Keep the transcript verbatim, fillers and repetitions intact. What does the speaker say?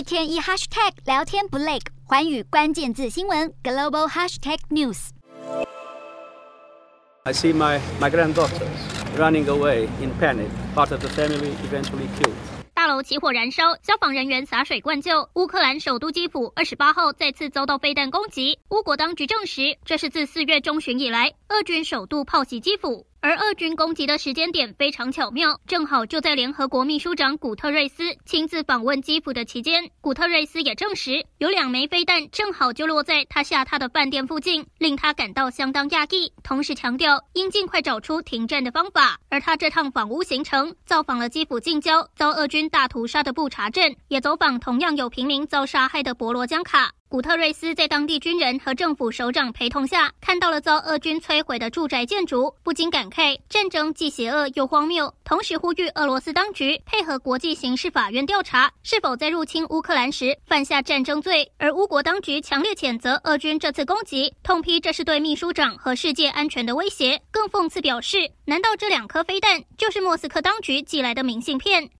天一 hashtag 聊天不累，寰宇關鍵字新聞 global hashtag news。 I see my my granddaughters running away in panic. Part of the family eventually killed. 大樓起火燃燒，消防人員灑水灌救。烏克蘭首都基輔二十八號再次遭到飛彈攻擊，烏國當局證實，這是自四月中旬以來，俄軍首度炮襲基輔。而俄軍攻擊的時間點非常巧妙，正好就在聯合國秘書長古特瑞斯親自訪問基輔的期間。古特瑞斯也證實，有兩枚飛彈正好就落在他下榻的飯店附近，令他感到相當訝異，同時強調應盡快找出停戰的方法。而他這趟訪烏行程，造訪了基輔近郊遭俄軍大屠殺的布查鎮，也走訪同樣有平民遭殺害的博羅江卡。古特瑞斯在當地軍人和政府首長陪同下，看到了遭俄軍摧毀的住宅建築，不禁感慨戰爭既邪惡又荒謬，同時呼籲俄羅斯當局配合國際刑事法院調查，是否在入侵烏克蘭時犯下戰爭罪。而烏國當局強烈譴責俄軍這次攻擊，痛批這是對秘書長和世界安全的威脅，更諷刺表示，難道這兩顆飛彈就是莫斯科當局寄來的明信片？